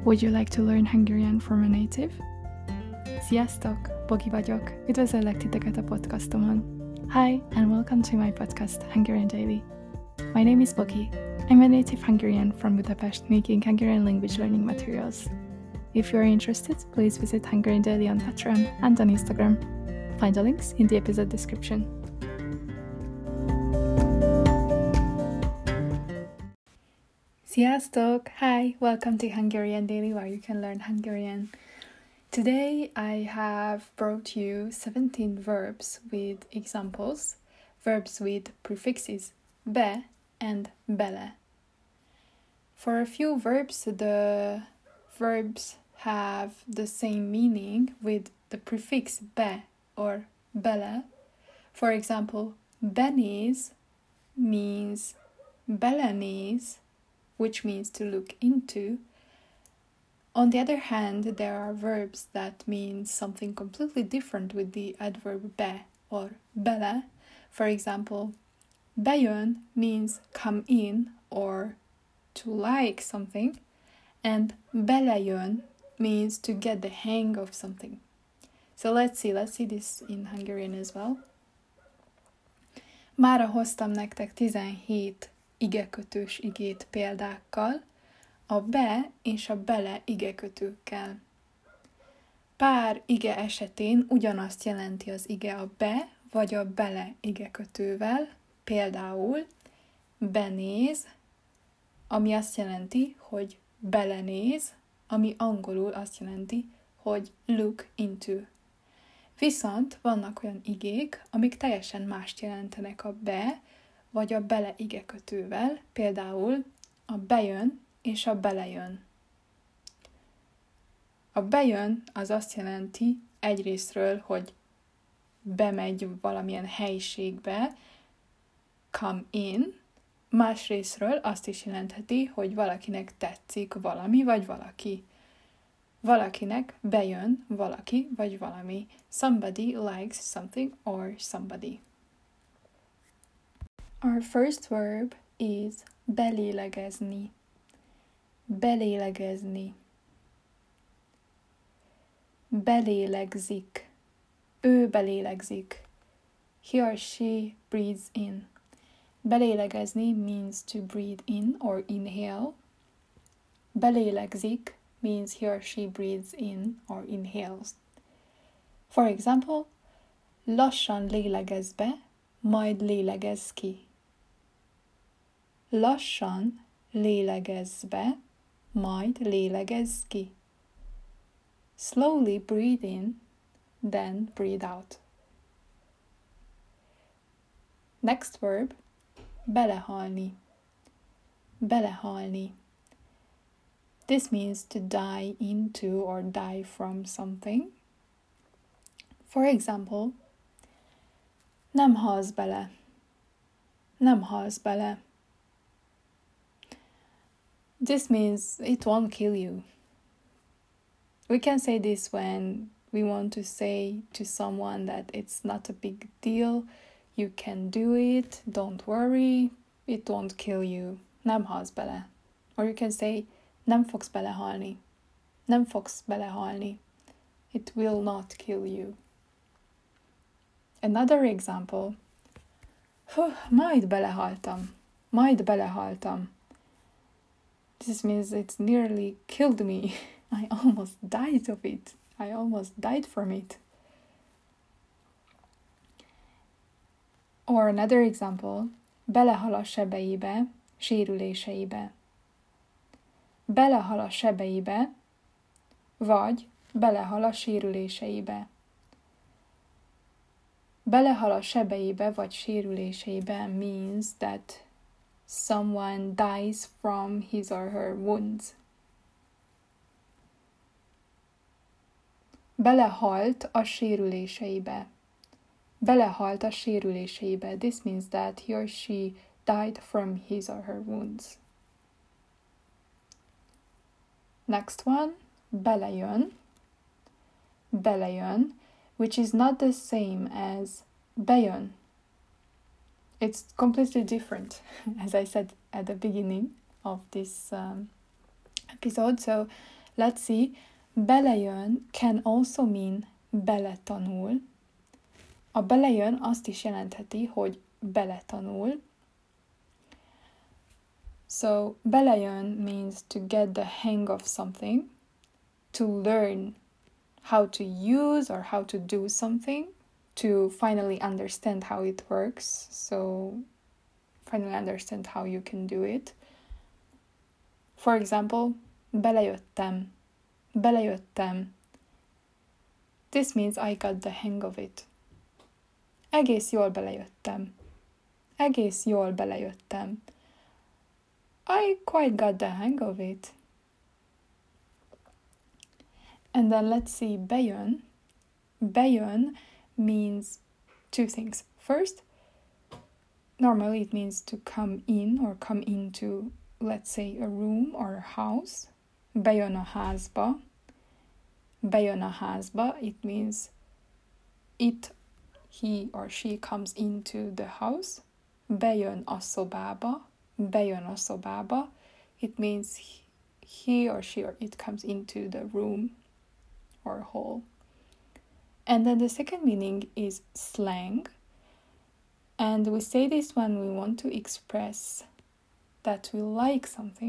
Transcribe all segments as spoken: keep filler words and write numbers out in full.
Would you like to learn Hungarian from a native? Sziasztok! Bogi vagyok. Üdvözöllek titeket a podcastomon. Hi, and welcome to my podcast, Hungarian Daily. My name is Bogi. I'm a native Hungarian from Budapest making Hungarian language learning materials. If you are interested, please visit Hungarian Daily on Patreon and on Instagram. Find the links in the episode description. Sziasztok! Hi! Welcome to Hungarian Daily, where you can learn Hungarian. Today I have brought you seventeen verbs with examples, verbs with prefixes be and bele. For a few verbs, the verbs have the same meaning with the prefix be or bele. For example, benéz means belenéz, which means to look into. On the other hand, there are verbs that mean something completely different with the adverb be or bele. For example, bejön means come in or to like something, and belejön means to get the hang of something. So let's see, let's see this in Hungarian as well. Mára hoztam nektek tizenhét igekötős igét példákkal, a be és a bele igekötőkkel. Pár ige esetén ugyanazt jelenti az ige a be vagy a bele igekötővel, például benéz, ami azt jelenti, hogy belenéz, ami angolul azt jelenti, hogy look into. Viszont vannak olyan igék, amik teljesen mást jelentenek a be vagy a bele igekötővel, például a bejön és a belejön. A bejön az azt jelenti egyrésztről, hogy bemegy valamilyen helyiségbe, come in, másrésztről azt is jelentheti, hogy valakinek tetszik valami vagy valaki. Valakinek bejön valaki vagy valami. Somebody likes something or somebody. Our first verb is belélegezni. Belélegezni. Belélegzik. Ő belélegzik. He or she breathes in. Belélegezni means to breathe in or inhale. Belélegzik means he or she breathes in or inhales. For example, lassan lélegez be, majd lélegez ki. Lassan lélegez be, majd lélegez ki. Slowly breathe in, then breathe out. Next verb, belehalni. Belehalni. This means to die into or die from something. For example, nem halsz bele. Nem halsz bele. This means it won't kill you. We can say this when we want to say to someone that it's not a big deal, you can do it, don't worry, it won't kill you. Nem halsz bele. Or you can say, nem fogsz belehalni. Nem fogsz belehalni. It will not kill you. Another example. Hú, majd belehaltam. Majd belehaltam. This means it's nearly killed me. I almost died of it. I almost died from it. Or another example. Belehal a sebeibe, sérüléseibe. Belehal a sebeibe, vagy belehal a sérüléseibe. Belehal a sebeibe vagy sérüléseibe means that someone dies from his or her wounds. Belehalt a sérüléseibe. Belehalt a sérüléseibe. This means that he or she died from his or her wounds. Next one, belejön. Belejön, which is not the same as bejön. It's completely different, as I said at the beginning of this um, episode. So Let's see. Belejön can also mean beletanul. A belejön azt is jelentheti, hogy beletanul. So, belejön means to get the hang of something, to learn how to use or how to do something, to finally understand how it works, so finally understand how you can do it. For example, belejöttem, belejöttem. This means I got the hang of it. Egész jól belejöttem. Egész jól belejöttem. I quite got the hang of it. And then let's see, bejön. Bejön means two things. First, normally it means to come in or come into, let's say, a room or a house. Bejön a házba. Bejön a házba. It means it, he or she comes into the house. Bejön a szobába. Bejön a szobába. It means he or she or it comes into the room or hall. And then the second meaning is slang. And we say this when we want to express that we like something.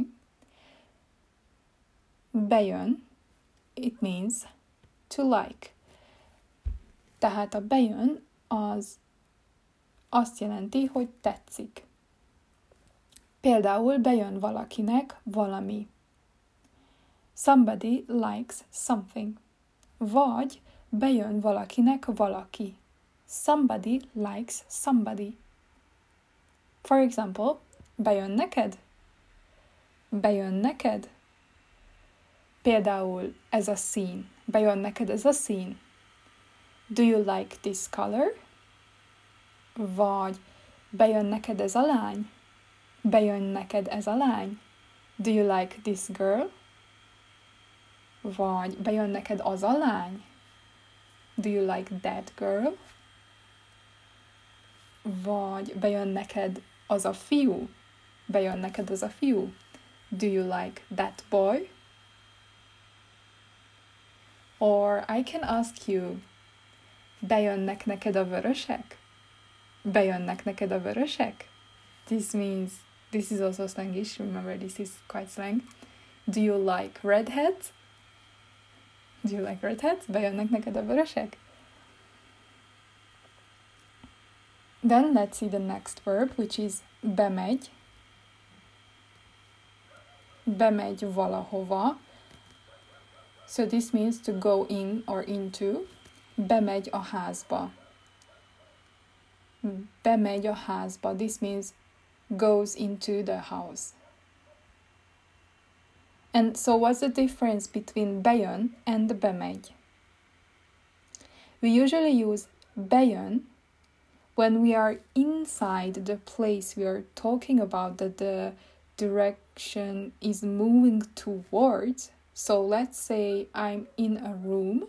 Bejön, it means to like. Tehát a bejön az azt jelenti, hogy tetszik. Például bejön valakinek valami. Somebody likes something. Vagy bejön valakinek valaki. Somebody likes somebody. For example, bejön neked? Bejön neked? Például ez a szín. Bejön neked ez a szín? Do you like this color? Vagy bejön neked ez a lány? Bejön neked ez a lány? Do you like this girl? Vagy bejön neked az a lány? Do you like that girl? Vagy bejön neked az a fiú? Bejön neked az a fiú? Do you like that boy? Or I can ask you, bejönnek neked a vörösek? Bejönnek neked a vörösek? This means, this is also Slangish, remember this is quite slang. Do you like redheads? Do you like redheads? Bejönnek neked a vörösek? Then let's see the next verb, which is bemegy. Bemegy valahova. So this means to go in or into. Bemegy a házba. Bemegy a házba. This means goes into the house. And so what's the difference between bejön and bemegy? We usually use bejön when we are inside the place we are talking about, that the direction is moving towards. So let's say I'm in a room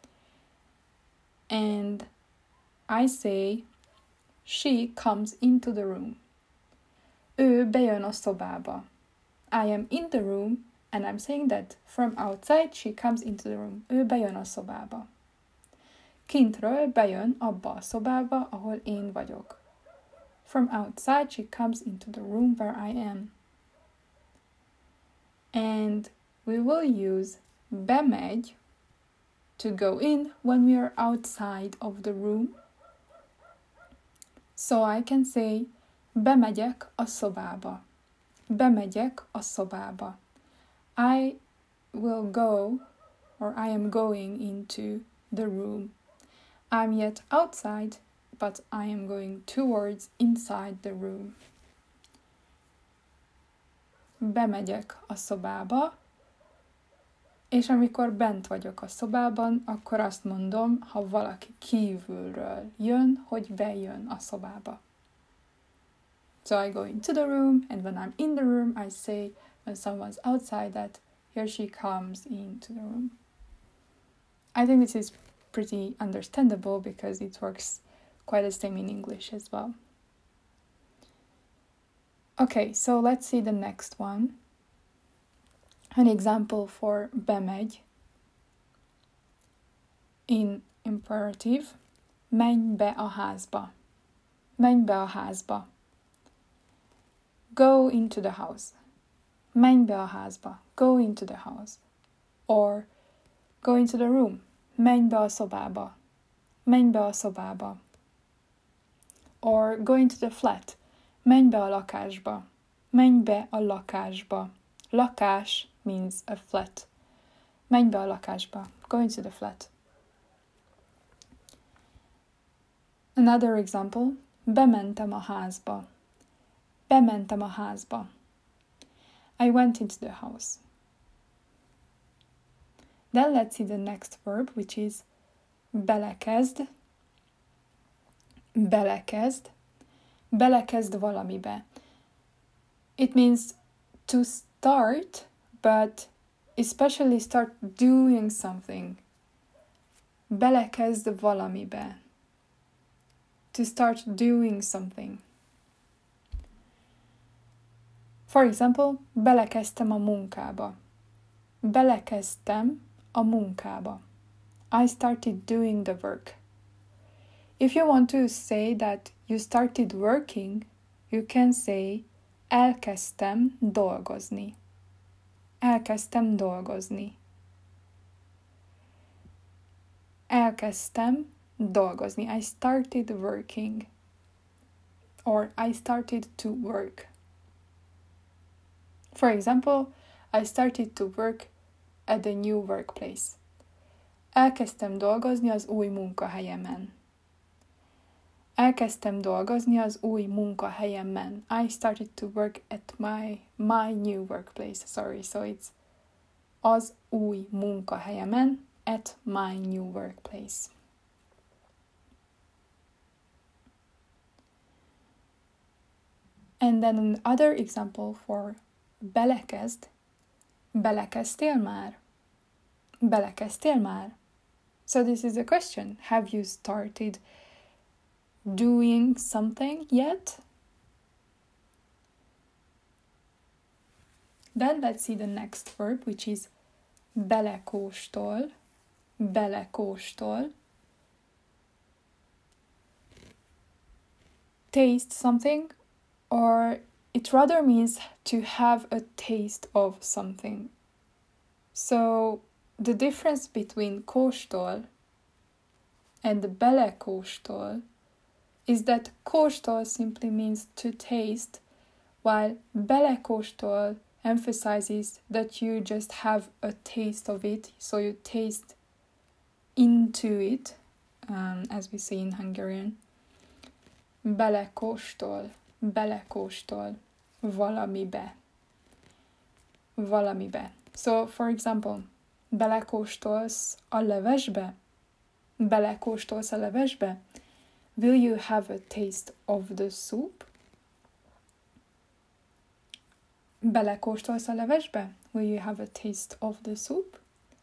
and I say she comes into the room. Ő bejön a szobába. I am in the room and I'm saying that from outside she comes into the room. Ő bejön a szobába. Kintről bejön abba a szobába, ahol én vagyok. From outside she comes into the room where I am. And we will use bemegy to go in when we are outside of the room. So I can say, bemegyek a szobába. Bemegyek a szobába. I will go, or I am going into the room. I'm yet outside, but I am going towards inside the room. Bemegyek a szobába, és amikor bent vagyok a szobában, akkor azt mondom, ha valaki kívülről jön, hogy bejön a szobába. So I go into the room, and when I'm in the room, I say, when someone's outside, that here she comes into the room. I think this is pretty understandable because it works quite the same in English as well. Okay, so let's see the next one. An example for bemegy in imperative, menj be a házba. Menj be a házba. Go into the house. Menj be a házba. Go into the house. Or go into the room. Menj be a szobába. Menj be a szobába. Or go into the flat. Menj be a lakásba. Menj be a lakásba. Lakás means a flat. Menj be a lakásba. Go into the flat. Another example. Bementem a házba. Bementem a házba. I went into the house. Then let's see the next verb, which is belekezd. Belekezd. Belekezd valamibe. It means to start, but especially start doing something. Belekezd valamibe. To start doing something. For example, belekezdtem a munkába. Belekezdtem a munkába. I started doing the work. If you want to say that you started working, you can say elkezdtem dolgozni. Elkezdtem dolgozni. Elkezdtem dolgozni. I started working. Or I started to work. For example, I started to work at the new workplace. Elkezdtem dolgozni az új munkahelyemen. Elkezdtem dolgozni az új munkahelyemen. I started to work at my my new workplace. Sorry, so it's az új munkahelyemen, at my new workplace. And then another example for belekezd. Belekezdtél már? Belekezdtél már? So this is a question. Have you started doing something yet? Then let's see the next verb, which is belekóstol. Belekóstol. Taste something, or it rather means to have a taste of something. So the difference between kóstol and belekóstol is that kóstol simply means to taste, while belekóstol emphasizes that you just have a taste of it, so you taste into it, um, as we say in Hungarian. Belekóstol, belekóstol, valamibe, valamibe. So, for example, belekóstolsz a levesbe? Belekóstolsz a levesbe? Will you have a taste of the soup? Belekóstolsz a levesbe? Will you have a taste of the soup?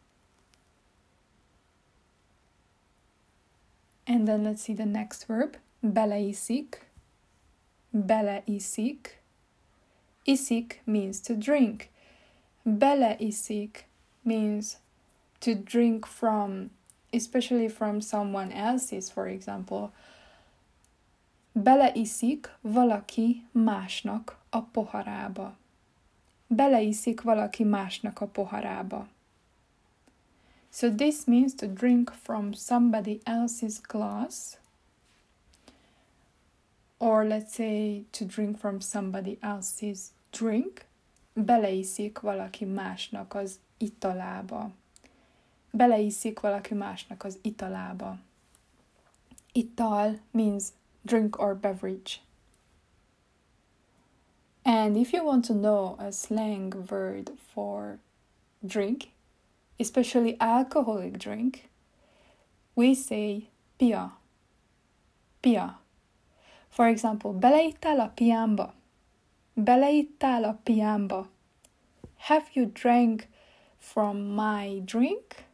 And then let's see the next verb. Beleiszik. Beleiszik. Iszik means to drink. Beleiszik means to drink from, especially from someone else's, for example. Beleiszik valaki másnak a poharába. Beleiszik valaki másnak a poharába. So this means to drink from somebody else's glass, or let's say to drink from somebody else's drink. Beleiszik valaki másnak az italába. Beleiszik valaki másnak az italába. Ital means drink or beverage. And if you want to know a slang word for drink, especially alcoholic drink, we say pia. Pia. For example, beleittál a piámba? Beleittál a piámba? Have you drank from my drink?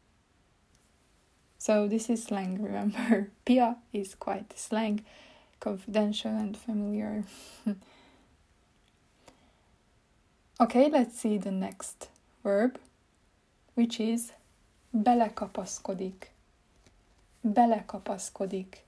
So this is slang, remember. Pia is quite slang, confidential and familiar. Okay, let's see the next verb, which is belekapaszkodik. Belekapaszkodik.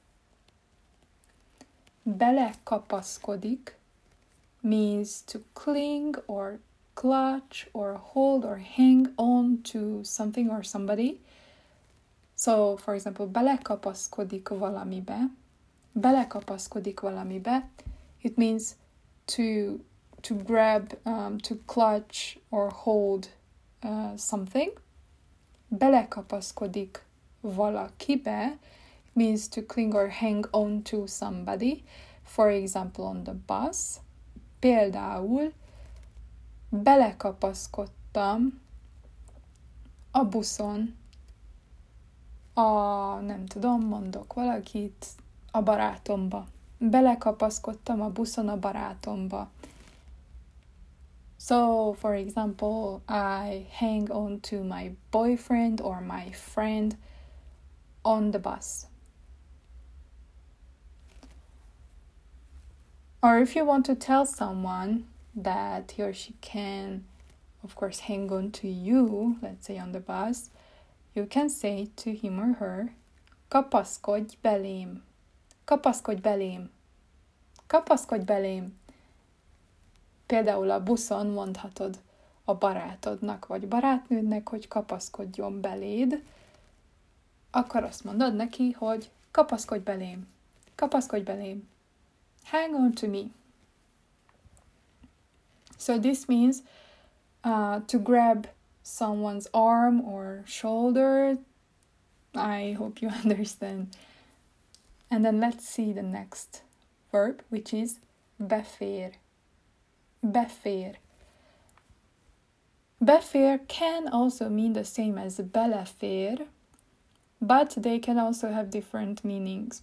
Belekapaszkodik means to cling or clutch or hold or hang on to something or somebody. So, for example, belekapaszkodik valamibe. Belekapaszkodik valamibe. It means to to grab, um, to clutch or hold uh, something. Belekapaszkodik valakibe means to cling or hang on to somebody. For example, on the bus. Például belekapaszkodtam a buszon a, nem tudom, mondok valakit, a barátomba. Belekapaszkodtam a buszon a barátomba. So, for example, I hang on to my boyfriend or my friend on the bus. Or if you want to tell someone that he or she can, of course, hang on to you, let's say on the bus, you can say to him or her, kapaszkodj belém. Kapaszkodj belém. Kapaszkodj belém. Például a buszon mondhatod a barátodnak vagy barátnődnek, hogy kapaszkodjon beléd, akkor azt mondod neki, hogy kapaszkodj belém. Kapaszkodj belém. Hang on to me. So this means uh, to grab someone's arm or shoulder. I hope you understand. And then let's see the next verb, which is befér. Befér. Befér can also mean the same as belefér, but they can also have different meanings.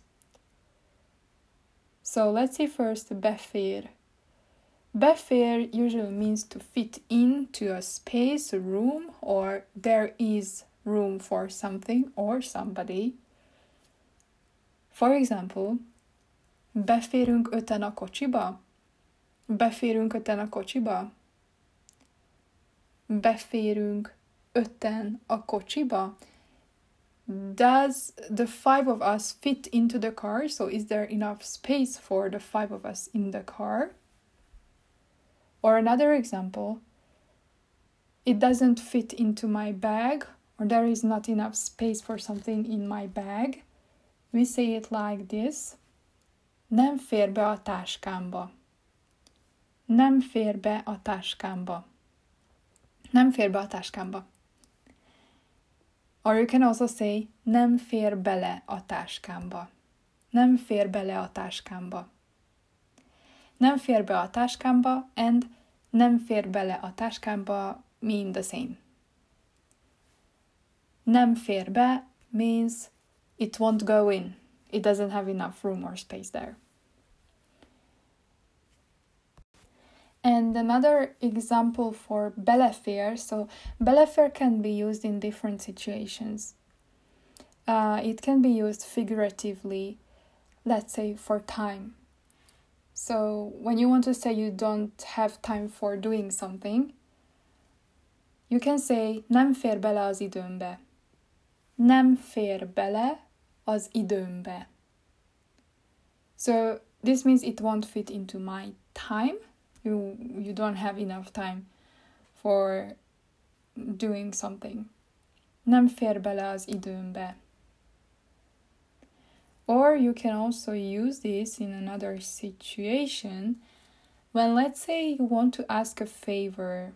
So let's see first befér. Befér usually means to fit into a space, a room, or there is room for something or somebody. For example, beférünk öten a kocsiba? Beférünk öten a kocsiba? Beférünk öten a kocsiba? Does the five of us fit into the car? So is there enough space for the five of us in the car? Or another example, it doesn't fit into my bag, or there is not enough space for something in my bag. We say it like this. Nem fér be a táskámba. Nem fér be a táskámba. Nem fér be a táskámba. Or you can also say, nem fér bele a táskámba. Nem fér bele a táskámba. Nem fér be a táskámba and nem fér bele a táskámba mean the same. Nem fér be means it won't go in. It doesn't have enough room or space there. And another example for belefér, so belefér can be used in different situations. Uh, it can be used figuratively, let's say for time. So when you want to say you don't have time for doing something, you can say nem fér bele az időmbe. Nem fér bele az időmbe. So this means it won't fit into my time. You, you don't have enough time for doing something. Nem fér bele az időmbe. Or you can also use this in another situation when, let's say, you want to ask a favor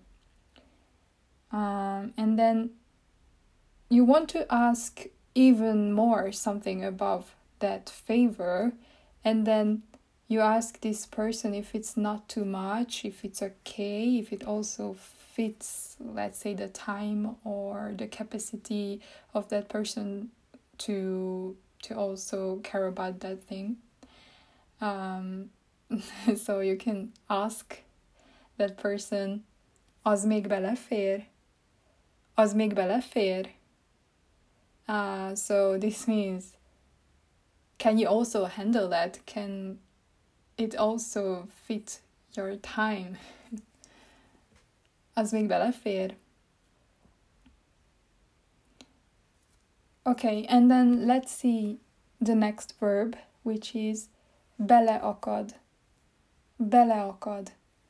um, and then you want to ask even more something above that favor, and then you ask this person if it's not too much, if it's okay, if it also fits, let's say, the time or the capacity of that person to to also care about that thing. Um, so you can ask that person, az még belefér? Az még belefér? Uh, so this means, can you also handle that? Can it also fit your time? Az még belefér? Okay, and then let's see the next verb, which is beleakad. Beleakad.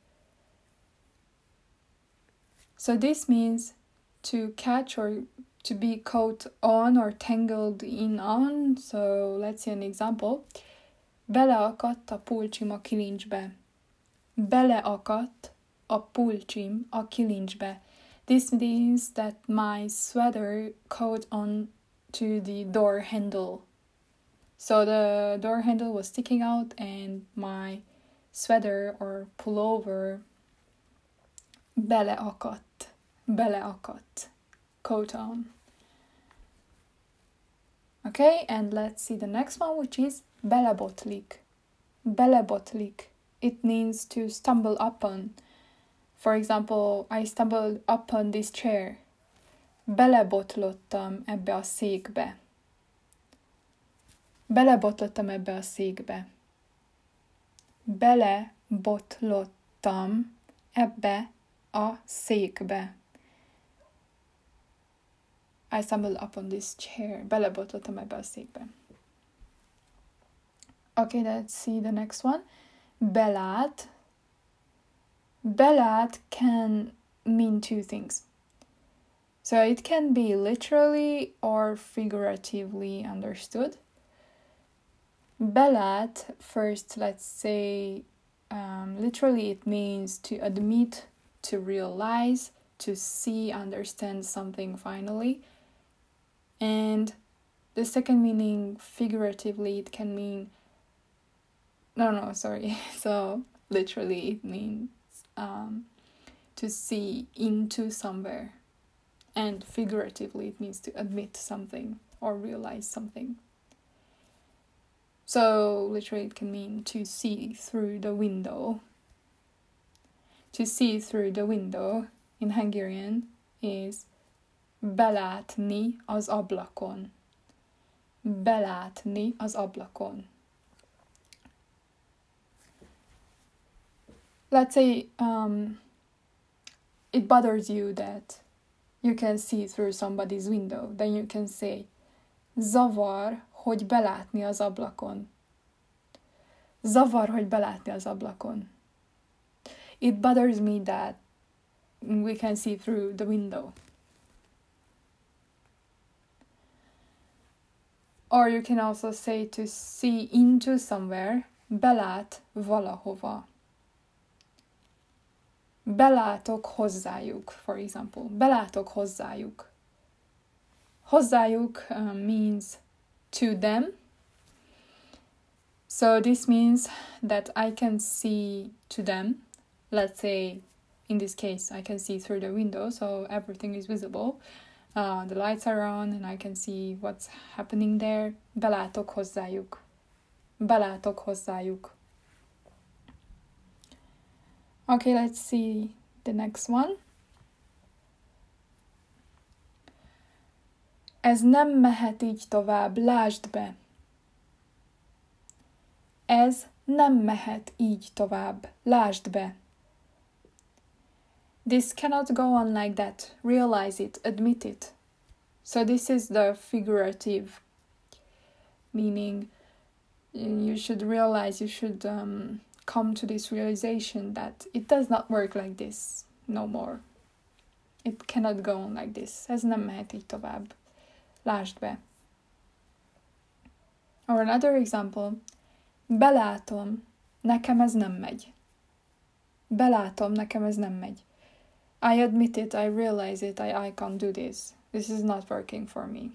So this means to catch or to be caught on or tangled in on. So let's see an example. Beleakadt a pulcsim a kilincsbe. Beleakadt a pulcsim a kilincsbe. This means that my sweater caught on to the door handle. So the door handle was sticking out and my sweater or pullover beleakadt, beleakadt, caught on. Okay, and let's see the next one, which is belebotlik. Belebotlik. It means to stumble upon. For example, I stumbled upon this chair. Belebotlottam ebbe a székbe. Belebotlottam ebbe a székbe. Belebotlottam ebbe a székbe. I stumbled upon this chair. Belebotlottam ebbe a székbe. Okay, let's see the next one. Belát. Belát can mean two things. So it can be literally or figuratively understood. Belát, first, let's say, um, literally it means to admit, to realize, to see, understand something finally. And the second meaning, figuratively, it can mean, no, no, sorry. So literally it means um, to see into somewhere. And figuratively it means to admit something or realize something. So literally it can mean to see through the window. To see through the window in Hungarian is belátni az ablakon. Belátni az ablakon. Let's say um, it bothers you that you can see through somebody's window. Then you can say zavar, hogy belátni az ablakon. Zavar, hogy belátni az ablakon. It bothers me that we can see through the window. Or you can also say to see into somewhere, belát valahova. Belátok hozzájuk, for example. Belátok hozzájuk. Hozzájuk uh, means to them. So this means that I can see to them. Let's say, in this case, I can see through the window, so everything is visible. Uh, the lights are on and I can see what's happening there. Belátok hozzájuk. Belátok hozzájuk. Okay, let's see the next one. Ez nem mehet így tovább, lásd be. Ez nem mehet így tovább, lásd be. This cannot go on like that. Realize it, admit it. So this is the figurative meaning. You should realize, you should um, come to this realization that it does not work like this no more. It cannot go on like this. Ez nem mehet így tovább. Lásd be. Or another example. Belátom, nekem ez nem megy. Belátom, nekem ez nem megy. I admit it, I realize it, I, I can't do this. This is not working for me.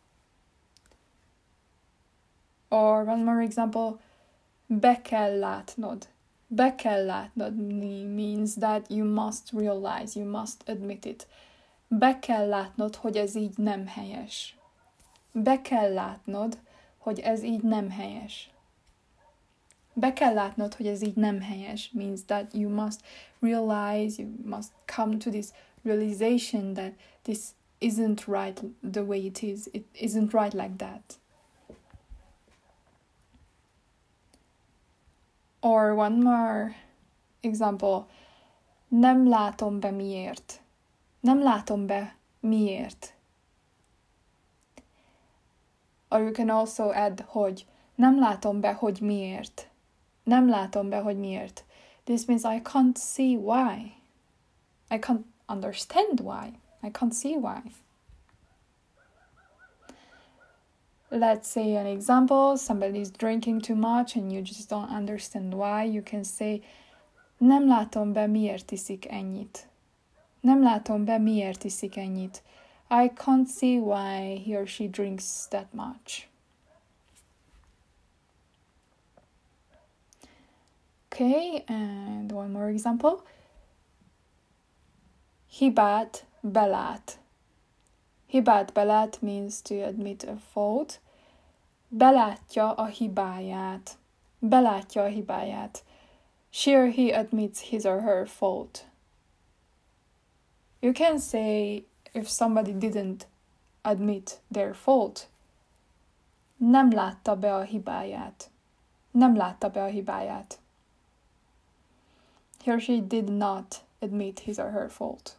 Or one more example. Be kell látnod. Be kell látnod means that you must realize, you must admit it. Be kell látnod, hogy ez így nem helyes. Be kell látnod, hogy ez így nem helyes. Be kell látnod, hogy ez így nem helyes means that you must realize, you must come to this realization that this isn't right the way it is. It isn't right like that. Or one more example. Nem látom be miért. Nem látom be miért. Or you can also add hogy. Nem látom be, hogy miért. Nem látom be, hogy miért. This means I can't see why. I can't understand why. I can't see why. Let's say an example. Somebody is drinking too much and you just don't understand why. You can say, nem látom be, miért iszik ennyit. Nem látom be, miért iszik ennyit. I can't see why he or she drinks that much. Okay, and one more example. Hibát belát. Hibát belát means to admit a fault. Belátja a hibáját. Belátja a hibáját. She or he admits his or her fault. You can say, if somebody didn't admit their fault, nem látta be a hibáját. Nem látta be a hibáját. He or she did not admit his or her fault.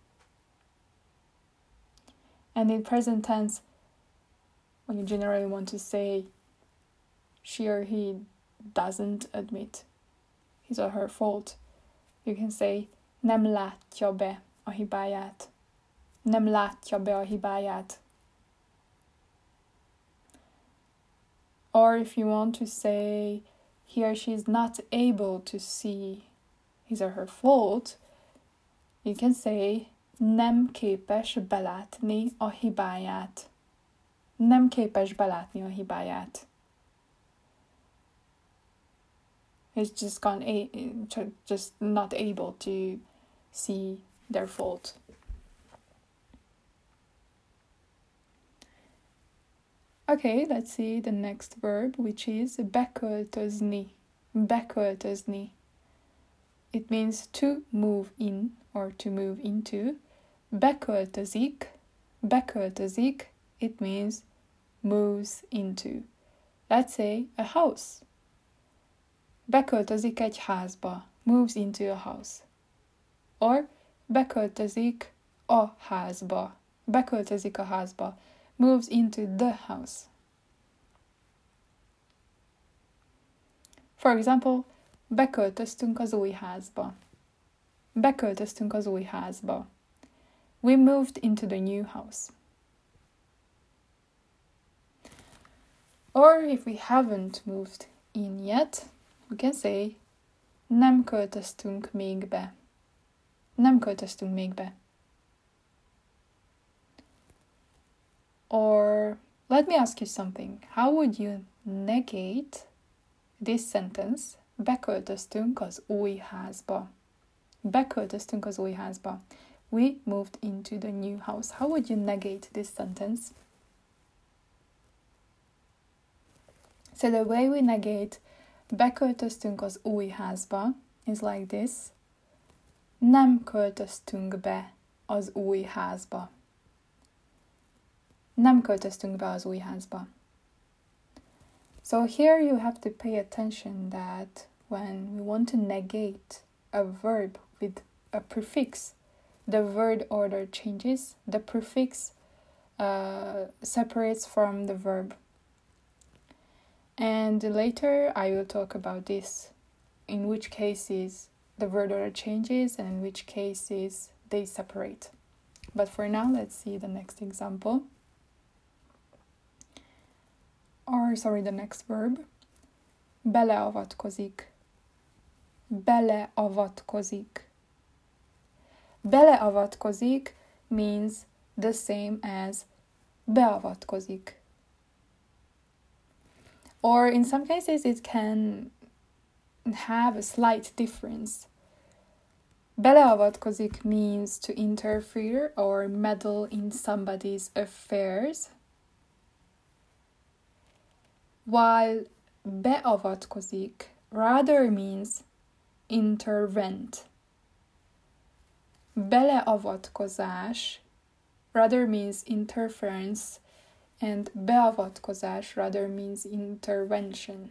And in present tense, when you generally want to say she or he doesn't admit his or her fault, you can say nem látja be a hibáját. Nem látja be a hibáját. Or if you want to say he or she is not able to see his or her fault, you can say nem képes belátni a hibáját. Nem képes belátni a hibáját. It's just gone a- just not able to see their fault. Okay, let's see the next verb, which is beköltözni. Beköltözni. It means to move in or to move into. Beköltözik. Beköltözik. It means moves into. Let's say a house. Beköltözik egy házba. Moves into a house. Or beköltözik a házba. Beköltözik a házba. Moves into the house. For example, beköltöztünk az új házba. Beköltöztünk az új házba. We moved into the new house. Or if we haven't moved in yet, we can say nem költöztünk még be. Nem költöztünk még be. Or let me ask you something. How would you negate this sentence? Beköltöztünk az új házba. Beköltöztünk az új házba. We moved into the new house. How would you negate this sentence? So the way we negate beköltöztünk az új házba is like this. Nem költöztünk be az új házba. Nem költöztünk be az új házba. So here you have to pay attention that when we want to negate a verb with a prefix, the word order changes. The prefix uh, separates from the verb. And later I will talk about this, in which cases the word order changes and in which cases they separate. But for now, let's see the next example. Or, sorry, the next verb. Beleavatkozik. Beleavatkozik. Beleavatkozik means the same as beavatkozik. Or in some cases it can have a slight difference. Beleavatkozik means to interfere or meddle in somebody's affairs, while beavatkozik rather means intervent. Beleavatkozás rather means interference, and beavatkozás rather means intervention.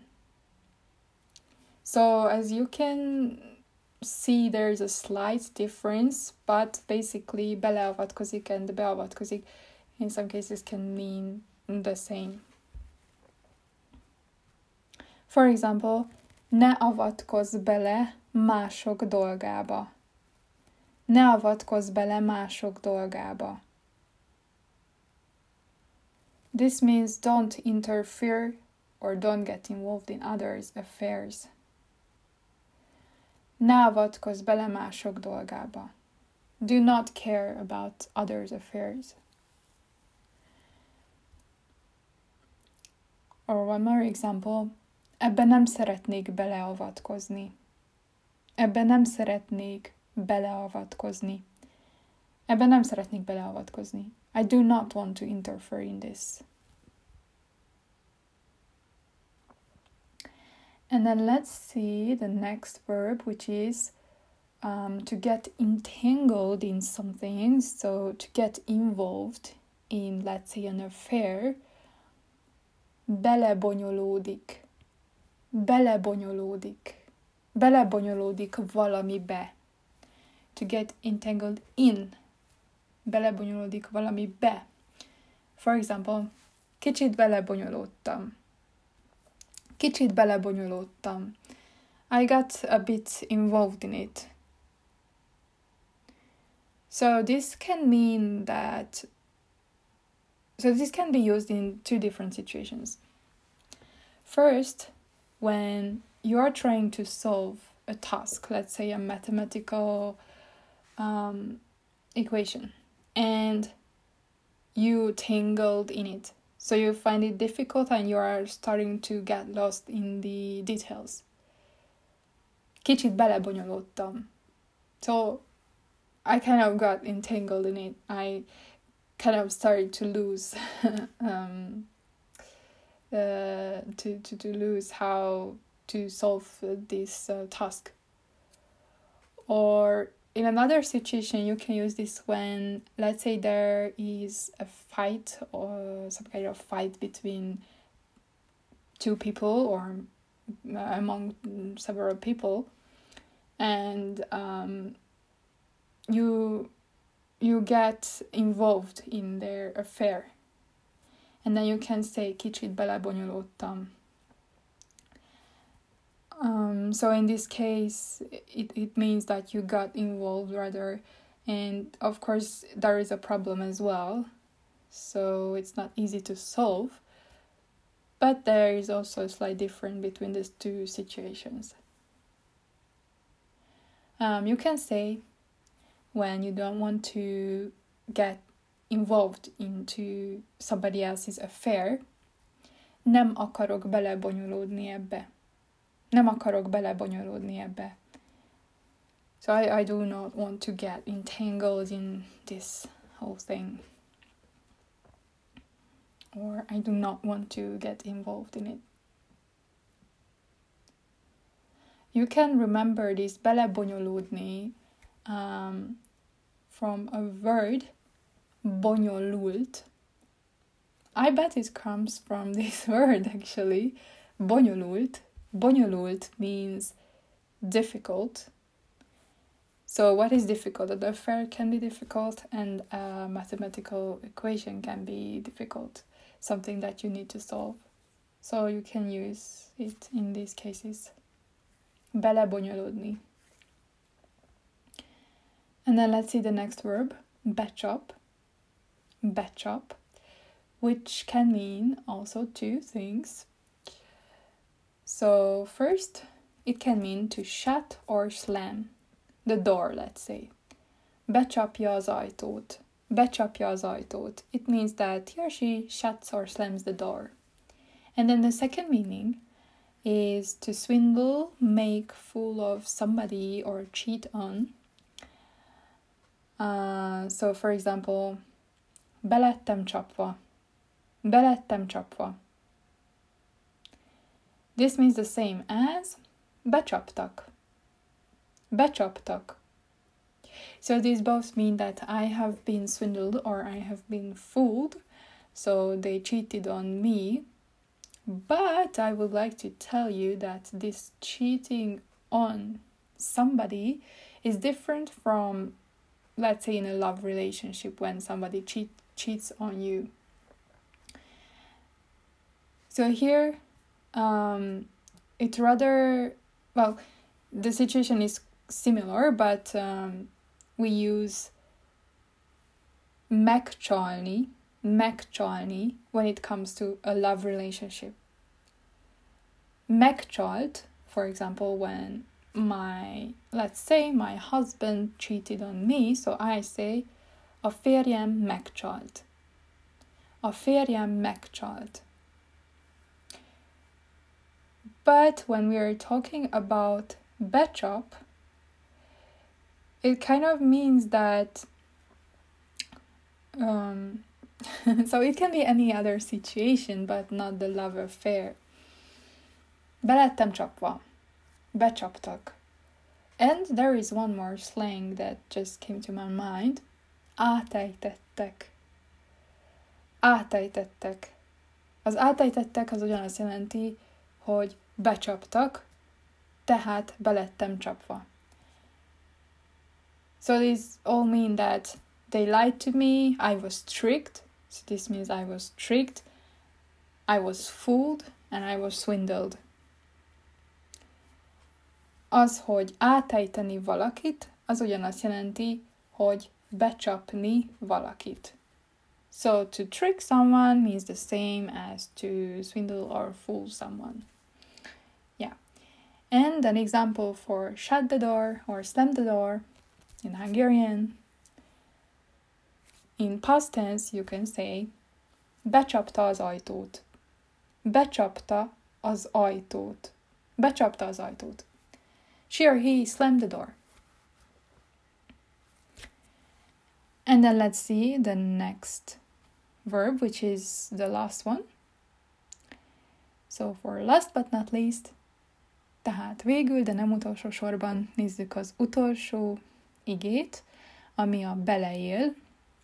So as you can see, there's a slight difference, but basically beleavatkozik and beavatkozik in some cases can mean the same. For example, ne avatkozz bele mások dolgába. Ne avatkozz bele mások dolgába. This means don't interfere or don't get involved in others' affairs. Ne avatkozz bele mások dolgába. Do not care about others' affairs. Or one more example. Ebben nem szeretnék beleavatkozni. Ebben nem szeretnék beleavatkozni. Ebben nem szeretnék beleavatkozni. I do not want to interfere in this. And then let's see the next verb, which is um, to get entangled in something. So to get involved in, let's say, an affair. Belebonyolódik. Belebonyolódik. Belebonyolódik valamibe. To get entangled in. Belebonyolódik valamibe. For example, kicsit belebonyolódtam. Kicsit belebonyolódtam. I got a bit involved in it. So this can mean that So this can be used in two different situations. First, when you are trying to solve a task, let's say a mathematical um, equation, and you tangled in it. So you find it difficult and you are starting to get lost in the details. Kicsit belebonyolódtam. So I kind of got entangled in it. I kind of started to lose um, uh, to, to, to lose how to solve this uh, task. Or in another situation, you can use this when, let's say, there is a fight or some kind of fight between two people or among several people, and um, you you get involved in their affair, and then you can say kicsit belebonyolódtam. Um, so in this case, it, it means that you got involved rather, and of course there is a problem as well, so it's not easy to solve, but there is also a slight difference between these two situations. Um, you can say, when you don't want to get involved into somebody else's affair, nem akarok belebonyolódni ebbe. Nem akarok belebonyolódni ebbe. So I, I do not want to get entangled in this whole thing. Or I do not want to get involved in it. You can remember this belebonyolódni um, from a word, bonyolult. I bet it comes from this word actually, bonyolult. Bonyolult means difficult. So what is difficult? An affair can be difficult and a mathematical equation can be difficult. Something that you need to solve. So you can use it in these cases. Belebonyolódni. And then let's see the next verb, becsap. Becsap, which can mean also two things. So first, it can mean to shut or slam the door, let's say. Becsapja az ajtót. Becsapja az ajtót. It means that he or she shuts or slams the door. And then the second meaning is to swindle, make fool of somebody or cheat on. Uh, so for example, belettem csapva. Belettem csapva. This means the same as becsaptak. Becsaptak. So these both mean that I have been swindled or I have been fooled. So they cheated on me. But I would like to tell you that this cheating on somebody is different from, let's say, in a love relationship when somebody cheat, cheats on you. So here, um, it rather, well, the situation is similar, but um, we use megcsalni, megcsalni when it comes to a love relationship. Megcsalt, for example, when my, let's say my husband cheated on me, so I say, a férjem megcsalt. A férjem megcsalt. But when we are talking about becsap, it kind of means that um, so it can be any other situation, but not the love affair. Be lettem csapva. Becsaptak. And there is one more slang that just came to my mind. Átejtettek. Átejtettek. Az átejtettek az ugyanazt jelenti, hogy becsaptak, tehát belettem csapva. So these all mean that they lied to me, I was tricked, so this means I was tricked, I was fooled, and I was swindled. Az, hogy átejteni valakit, az ugyanazt jelenti, hogy becsapni valakit. So to trick someone means the same as to swindle or fool someone. Yeah. And an example for shut the door or slam the door in Hungarian. In past tense you can say becsapta az ajtót. Becsapta az ajtót. Becsapta az ajtót. She or he slammed the door. And then let's see the next verb, which is the last one. So for last but not least, tehát végül, de nem utolsó sorban nézzük az utolsó igét, ami a beleél,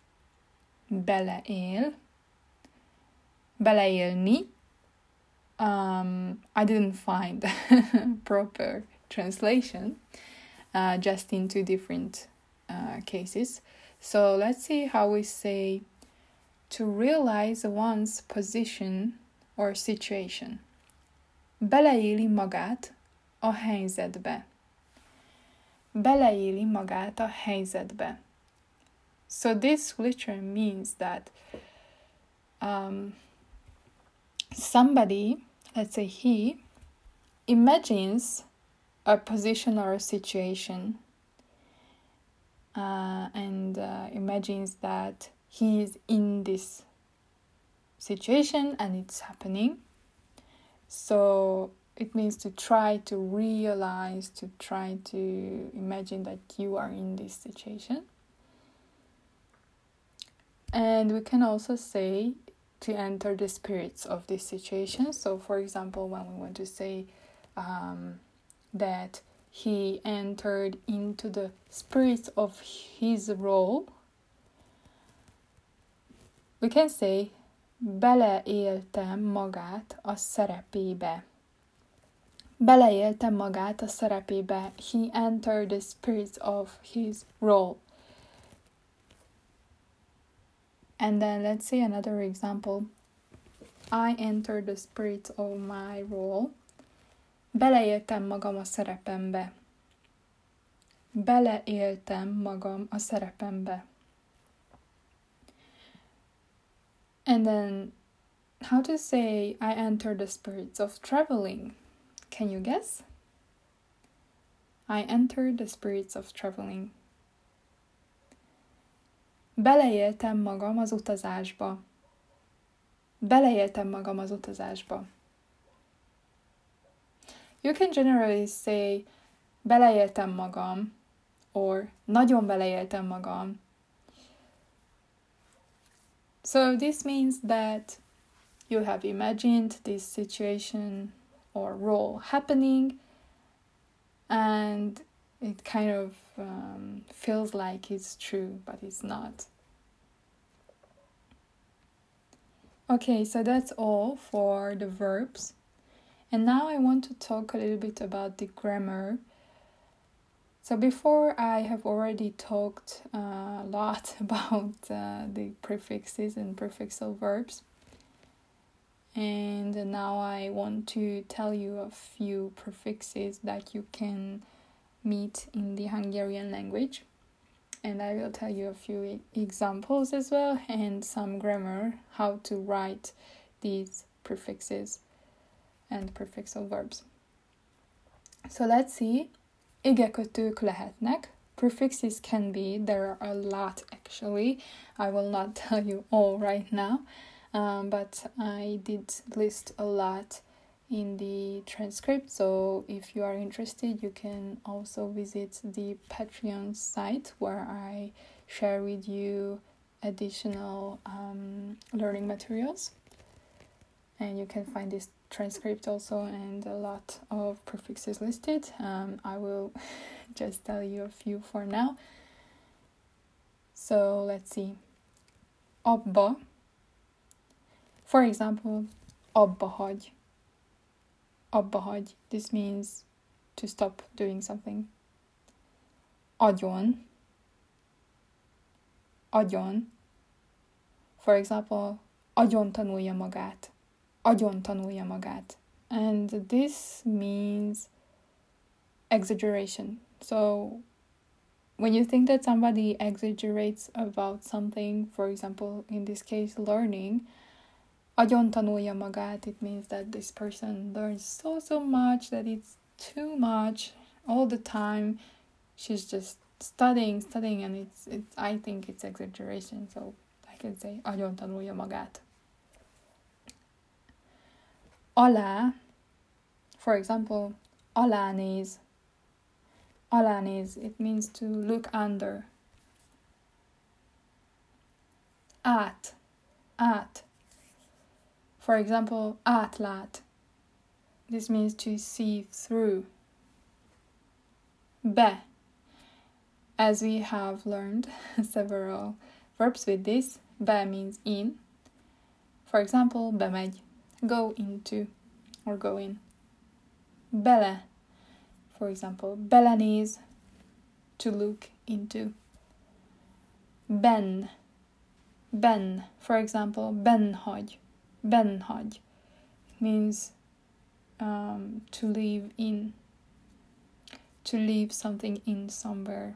beleél, beleélni. Um, I didn't find proper translation, uh, just in two different uh, cases. So let's see how we say to realize one's position or situation. Beleéli magát a helyzetbe. Beleéli magát a helyzetbe. So this literally means that um, somebody, let's say he, imagines a position or a situation uh, and uh, imagines that he is in this situation and it's happening. So it means to try to realize, to try to imagine that you are in this situation. And we can also say to enter the spirits of this situation. So for example, when we want to say um, that he entered into the spirits of his role, we can say beleéltem magát a szerepébe. Beleéltem magát a szerepébe. He entered the spirits of his role. And then let's say another example. I entered the spirits of my role. Beleéltem magam a szerepembe. Beleéltem magam a szerepembe. And then, how to say I entered the spirits of traveling? Can you guess? I entered the spirits of traveling. Beleéltem magam az utazásba. Beleéltem magam az utazásba. You can generally say beleéltem magam, or nagyon beleéltem magam. So this means that you have imagined this situation or role happening, and it kind of um, feels like it's true, but it's not. Okay, so that's all for the verbs. And now I want to talk a little bit about the grammar. So before I have already talked uh, a lot about uh, the prefixes and prefixal verbs. And now I want to tell you a few prefixes that you can meet in the Hungarian language. And I will tell you a few examples as well, and some grammar, how to write these prefixes and prefixal verbs. So let's see. Igekötők lehetnek. Prefixes can be, there are a lot actually. I will not tell you all right now, um, but I did list a lot in the transcript. So if you are interested, you can also visit the Patreon site where I share with you additional um, learning materials. And you can find this transcript also and a lot of prefixes listed. Um, I will just tell you a few for now. So let's see. Abba. For example, abba hagy. Abba hagy. This means to stop doing something. Agyon. Agyon. For example, agyon tanulja magát. Agyon tanulja magát. And this means exaggeration. So when you think that somebody exaggerates about something, for example, in this case, learning, agyon tanulja magát, it means that this person learns so, so much that it's too much all the time. She's just studying, studying, and it's, it's I think it's exaggeration. So I can say, agyon tanulja magát. Alá, for example, alánéz. Alánéz, it means to look under. Át, át. For example, átlát. This means to see through. Be. As we have learned several verbs with this, be means in. For example, bemegy. Go into or go in. Bele, for example, belenéz, to look into. Ben, ben, for example, benhagy, benhagy, means um, to leave in, to leave something in somewhere.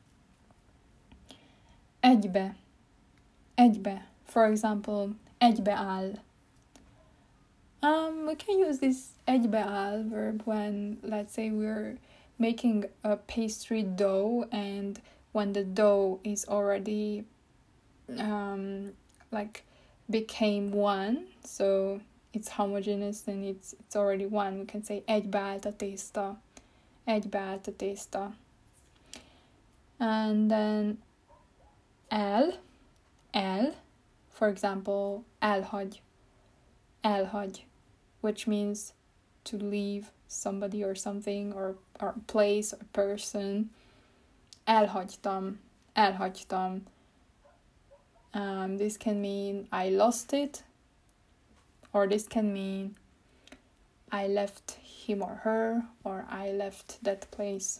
Egybe, egybe, for example, egybeáll. Um, we can use this egybeáll verb when, let's say, we're making a pastry dough, and when the dough is already um, like became one, so it's homogeneous and it's it's already one. We can say egybeállt a tészta, egybeállt a tészta. And then el, el, for example, elhagy, elhagy, which means to leave somebody or something or, or a place or person. Elhagytam, elhagytam. Um, this can mean I lost it, or this can mean I left him or her, or I left that place.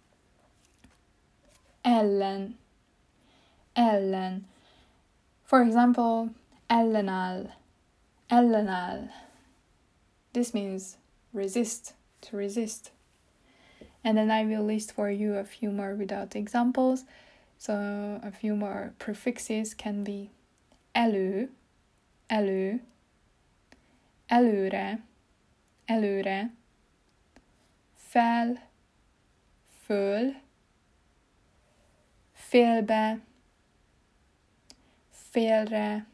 Ellen, ellen. For example, ellenáll, ellenáll. This means resist, to resist. And then I will list for you a few more without examples. So a few more prefixes can be elő, elő, előre, előre, fel, föl, félbe, félre,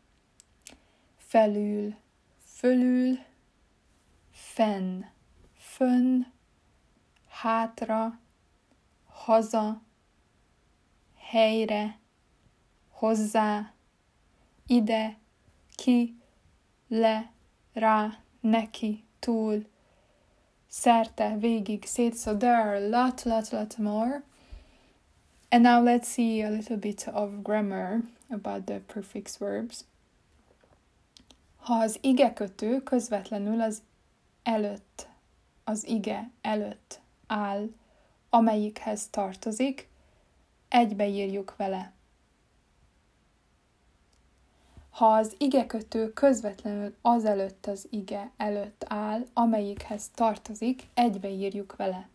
felül, fölül, fenn, fönn, hátra, haza, helyre, hozzá, ide, ki, le, rá, neki, túl, szerte, végig, szét. So there are a lot, lot, lot more. And now let's see a little bit of grammar about the prefix verbs. Ha az igekötő közvetlenül az előtt, az ige előtt áll, amelyikhez tartozik, egybeírjuk vele. Ha az igekötő közvetlenül azelőtt az ige előtt áll, amelyikhez tartozik, egybeírjuk vele.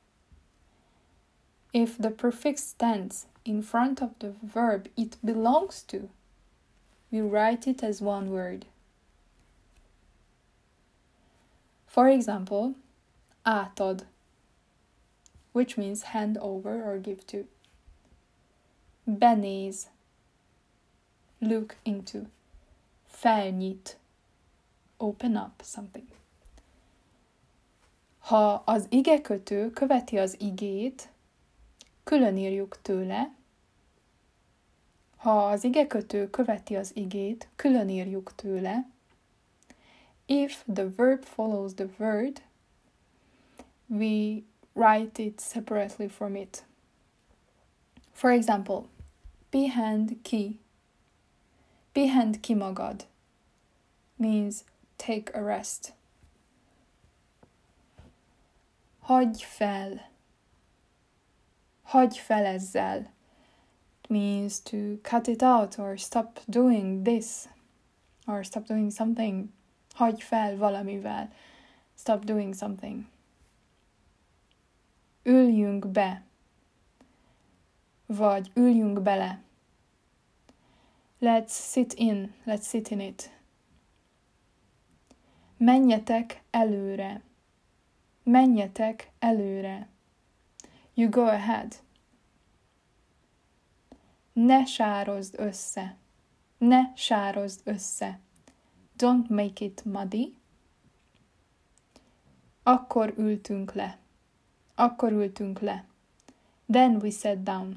If the prefix stands in front of the verb it belongs to, we write it as one word. For example, átad, which means hand over or give to. Benéz, look into. Felnyit, open up something. Ha az igekötő követi az igét, külön írjuk tőle. Ha az igekötő követi az igét, külön írjuk tőle. If the verb follows the word, we write it separately from it. For example, pihend ki. Pihend ki magad means take a rest. Hagyj fel. Hagyj fel ezzel. It means to cut it out or stop doing this or stop doing something. Hagyj fel valamivel. Stop doing something. Üljünk be. Vagy üljünk bele. Let's sit in. Let's sit in it. Menjetek előre. Menjetek előre. You go ahead. Ne sározd össze. Ne sározd össze. Don't make it muddy. Akkor ültünk le. Akkor ültünk le. Then we sat down.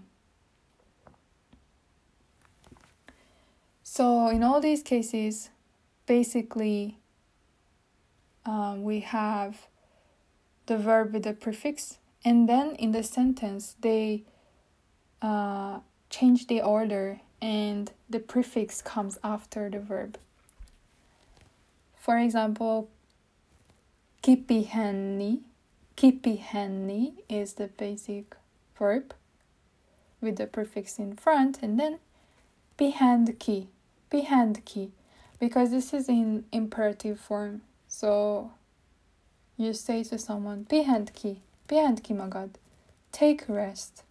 So in all these cases, basically, um, we have the verb with the prefix, and then in the sentence they uh, change the order and the prefix comes after the verb. For example, kipihenni. Kipihenni is the basic verb with the prefix in front, and then pihend ki. Pihend ki. Because this is in imperative form. So you say to someone, pihend ki. Pihend ki magad. Take a rest.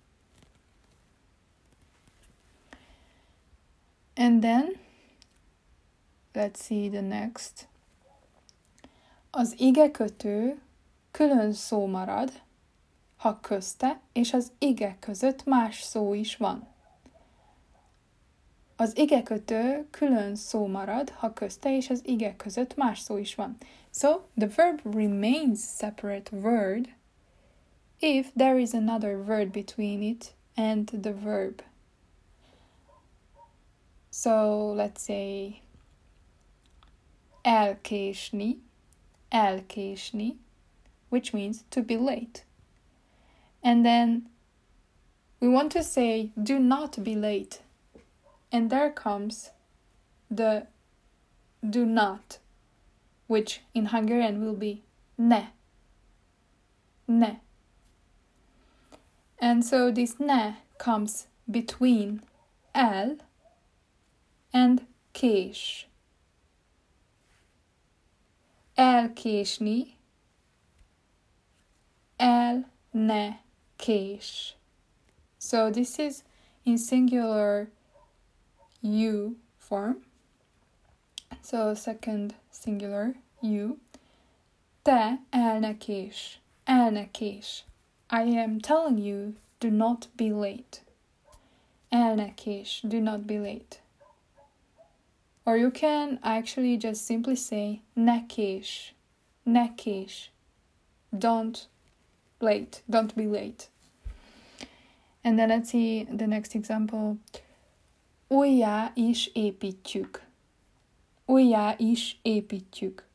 And then, let's see the next. Az igekötő külön szó marad, ha közte és az ige között más szó is van. Az igekötő külön szó marad, ha közte és az ige között más szó is van. So, the verb remains separate word if there is another word between it and the verb. So, let's say elkésni, elkésni, which means to be late. And then we want to say do not be late. And there comes the do not, which in Hungarian will be ne. Ne. And so this ne comes between el and kés. Elkésni, el ne kés. So this is in singular you form. So second singular you. Te el ne kés. El ne kés. I am telling you, do not be late. El ne kés. Do not be late. Or you can actually just simply say ne kés. Ne kés. Don't late. Don't be late. And then let's see the next example. Újjá is építjük. Újjá is építjük.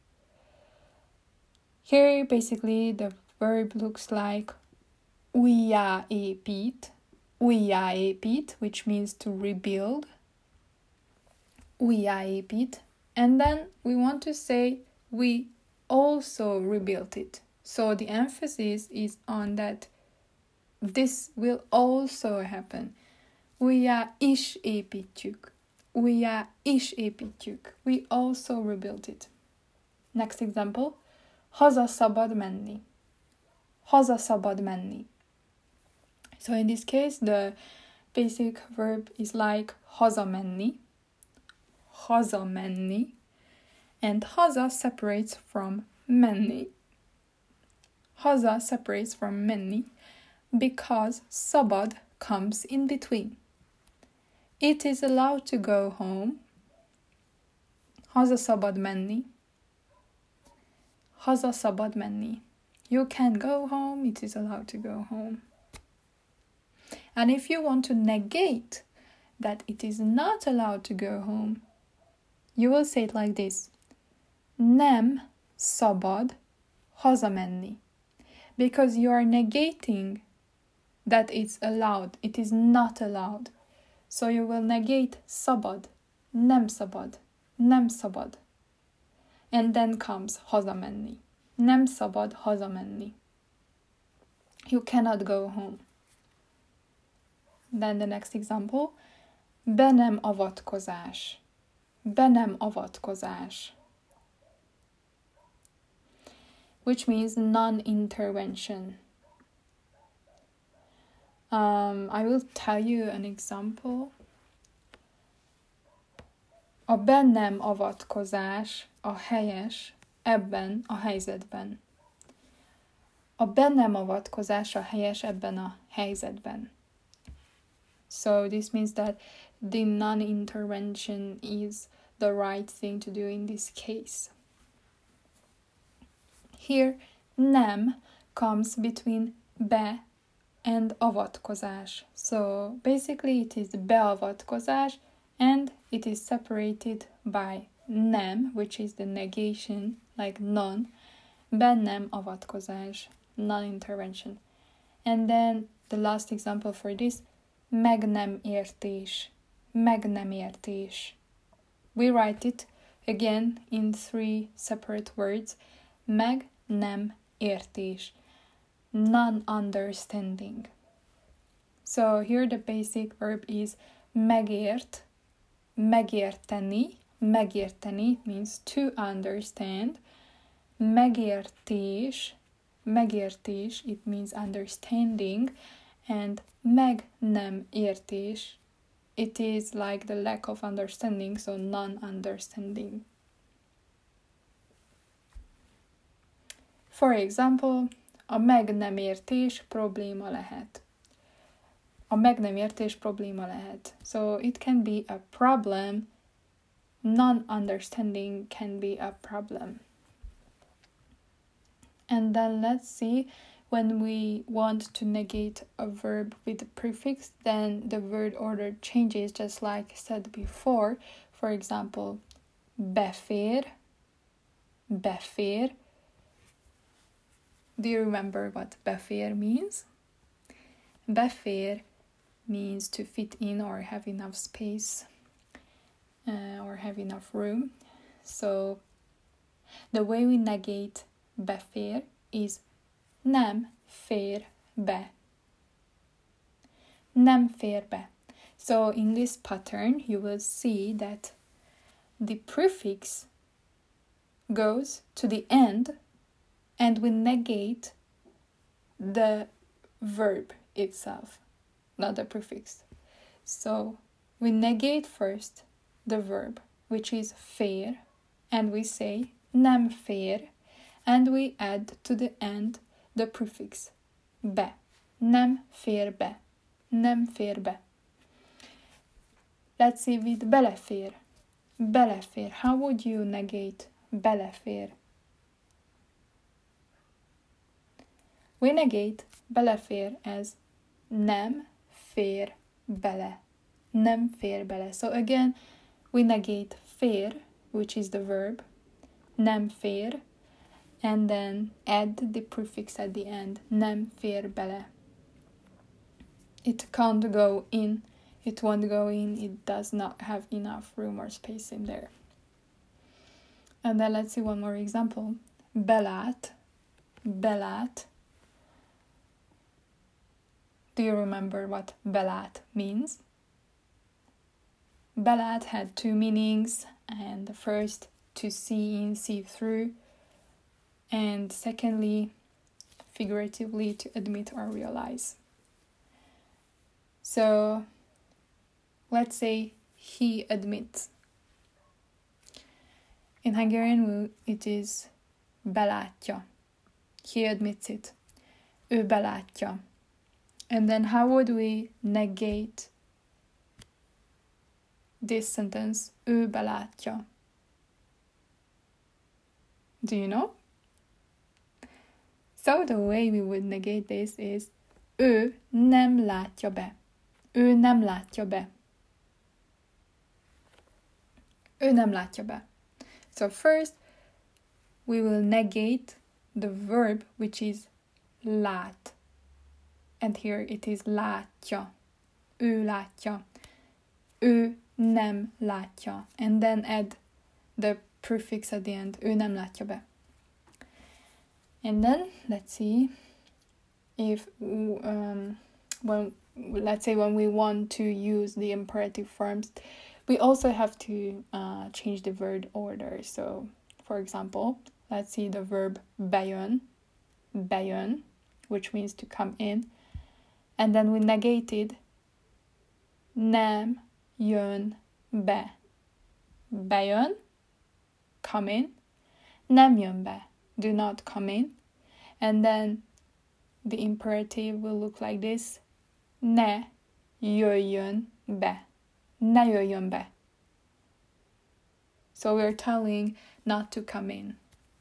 Here basically the verb looks like újjá épít. Újjá épít, which means to rebuild. Újjá épít. And then we want to say we also rebuilt it. So the emphasis is on that this will also happen. Újjá is építjük. újjá is építjük. We also rebuild it. Next example. Haza szabad menni. Haza szabad menni. So in this case, the basic verb is like hazamenni. Hazamenni. And haza separates from menni. Haza separates from menni because szabad comes in between. It is allowed to go home. Haza szabad menni. Haza szabad menni. You can go home, it is allowed to go home. And if you want to negate that it is not allowed to go home, you will say it like this. Nem szabad hazamenni. Because you are negating that it's allowed. It is not allowed. So you will negate szabad. Nem szabad. Nem szabad. And then comes hazamenni. Nem szabad hazamenni. You cannot go home. Then the next example. Be nem avatkozás. Be nem avatkozás. Which means non-intervention. Um, I will tell you an example. A be nem avatkozás a helyes ebben a helyzetben. A be nem avatkozás a helyes ebben a helyzetben. So this means that the non-intervention is the right thing to do in this case. Here, nem comes between be and avatkozás. So basically it is beavatkozás and it is separated by nem, which is the negation, like non, be nem avatkozás, non-intervention. And then the last example for this, meg nem értés, meg nem értés. We write it again in three separate words, meg nem értés, non-understanding. So here the basic verb is megért, megérteni, megérteni means to understand, megértés, megértés, it means understanding, and meg nem értés, it is like the lack of understanding, so non-understanding. For example, a meg nem értés probléma lehet. A meg nem értés probléma lehet. So it can be a problem. Non-understanding can be a problem. And then let's see, when we want to negate a verb with a prefix, then the word order changes, just like I said before. For example, befér, befér. Do you remember what befér means? Befér means to fit in or have enough space uh, or have enough room. So the way we negate befér is nem fér be. Nem fér be. So in this pattern, you will see that the prefix goes to the end and we negate the verb itself, not the prefix. So we negate first the verb, which is fér, and we say nem fér, and we add to the end the prefix be. Nem fér be. Nem fér be. Let's see with belefér. Belefér. How would you negate belefér? We negate belefér as nem fér bele. Nem fér bele. So again, we negate fér, which is the verb, nem fér, and then add the prefix at the end, nem fér bele. It can't go in, it won't go in, it does not have enough room or space in there. And then let's see one more example. Belát, belát. Do you remember what belát means? belát had two meanings, and the first, to see in, see through, and secondly, figuratively, to admit or realize. So let's say he admits. In Hungarian it is belátja. He admits it. Ő belátja. And then how would we negate this sentence? Ő belátja. Do you know? So the way we would negate this is ő nem látja be. Ő nem látja be. Ő nem látja be. So first, we will negate the verb, which is lát. And here it is látja. Ő látja. Ő nem látja. And then add the prefix at the end. Ő nem látja be. And then, let's see if, um, when, let's say when we want to use the imperative forms, we also have to uh, change the word order. So, for example, let's see the verb bejön, bejön, which means to come in. And then we negated nem jön be. Bejön, come in. Nem jön be, do not come in. And then the imperative will look like this. Ne jöjjön be. Ne jöjjön be. So we're telling not to come in.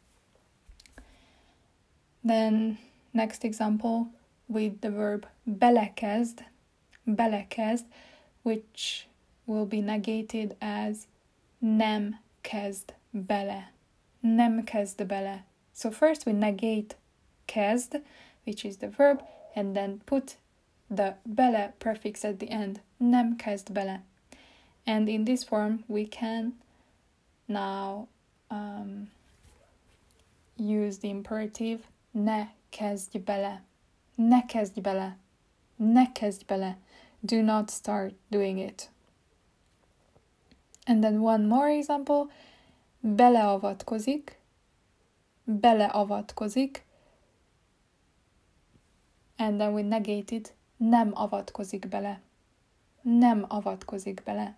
Then next example with the verb belekezd, belekezd, which will be negated as nem kezd bele. Nem kezd bele. So first we negate kezd, which is the verb, and then put the bele prefix at the end. Nem kezd bele. And in this form we can now um, use the imperative ne kezdj bele. Ne kezdj bele. Ne kezdj bele. Do not start doing it. And then one more example. Beleavatkozik. Beleavatkozik. And then we negate it. Nem avatkozik bele. Nem avatkozik bele.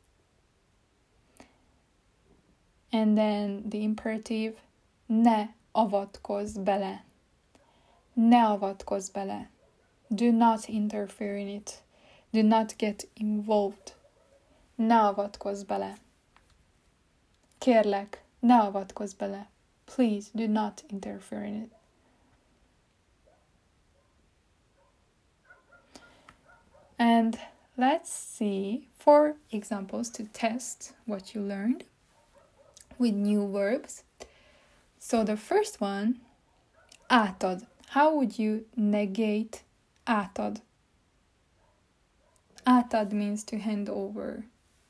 And then the imperative, ne avatkozz bele. Ne avatkozz bele. Do not interfere in it. Do not get involved. Ne avatkozz bele. Kérlek, ne avatkozz bele. Please do not interfere in it. And let's see four examples to test what you learned with new verbs. So the first one, átad. How would you negate átad? Átad means to hand over.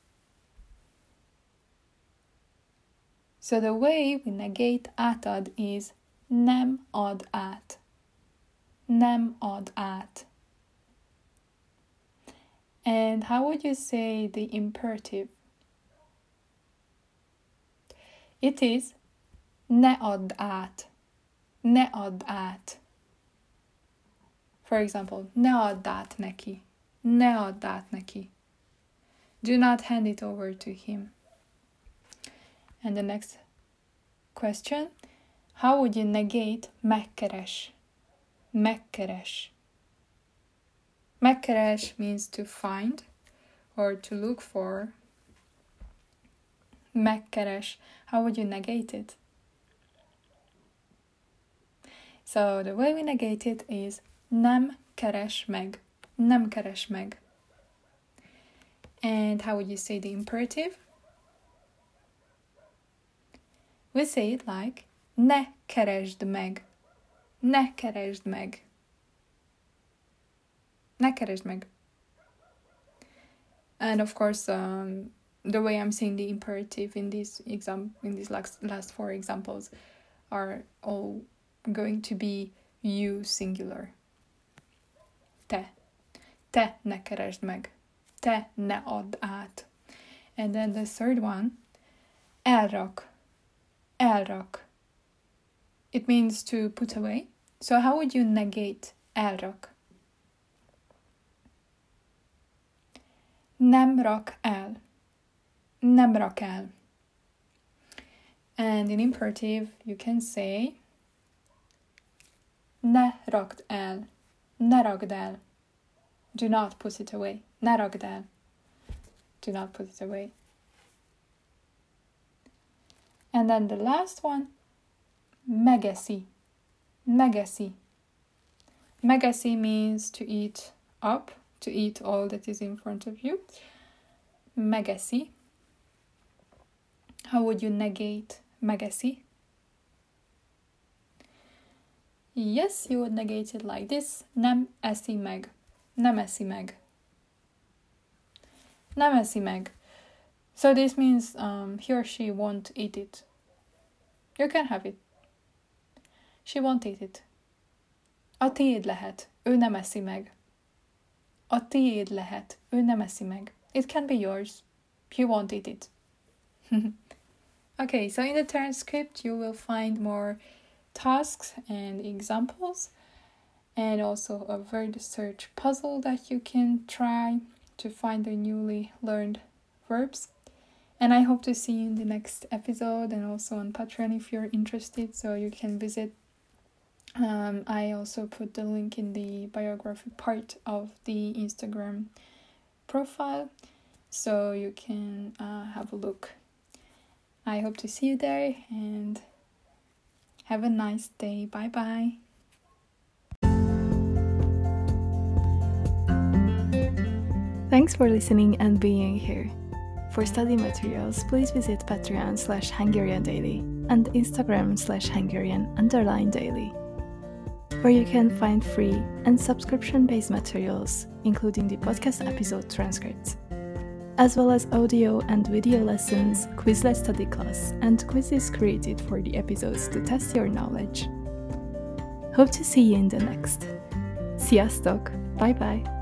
So the way we negate átad is nem ad át. Nem ad át. And how would you say the imperative? It is ne add át. Ne add át. For example, ne add át neki. Ne add át neki. Do not hand it over to him. And the next question, how would you negate megkeres? Megkeres. Megkeres means to find or to look for. Megkeres. How would you negate it? So the way we negate it is nem keres meg. Nem keres meg. And how would you say the imperative? We say it like ne keresd meg. Ne keresd meg. Ne keresd meg. And of course, um, the way I'm saying the imperative in these exam in these last last four examples are all going to be you singular. Te. Te ne keresd meg. Te ne add át. And then the third one, elrak, elrak. It means to put away. So how would you negate elrak? Nem rak el, nem rak el. And in imperative, you can say ne rakd el, ne rakd el. Do not put it away. Ne rakd el. Do not put it away. And then the last one, megeszi, megeszi. Megeszi means to eat up, to eat all that is in front of you. Megeszi. How would you negate megeszi? Yes, you would negate it like this. Nem eszi meg. Nem eszi meg. Nem eszi meg. So this means um, he or she won't eat it. You can have it. She won't eat it. A tiéd lehet. Ő nem eszi meg. A tiéd lehet. Ő nem eszi meg. It can be yours. He won't eat it. Okay, so in the transcript you will find more tasks and examples, and also a word search puzzle that you can try to find the newly learned verbs. And I hope to see you in the next episode, and also on Patreon if you're interested, so you can visit. Um, I also put the link in the biography part of the Instagram profile, so you can uh, have a look. I hope to see you there, and have a nice day. Bye bye. Thanks for listening and being here. For study materials, please visit Patreon slash Hungarian Daily and Instagram slash Hungarian underline daily, where you can find free and subscription-based materials, including the podcast episode transcripts, as well as audio and video lessons, Quizlet study class, and quizzes created for the episodes to test your knowledge. Hope to see you in the next. Sziasztok! Bye bye!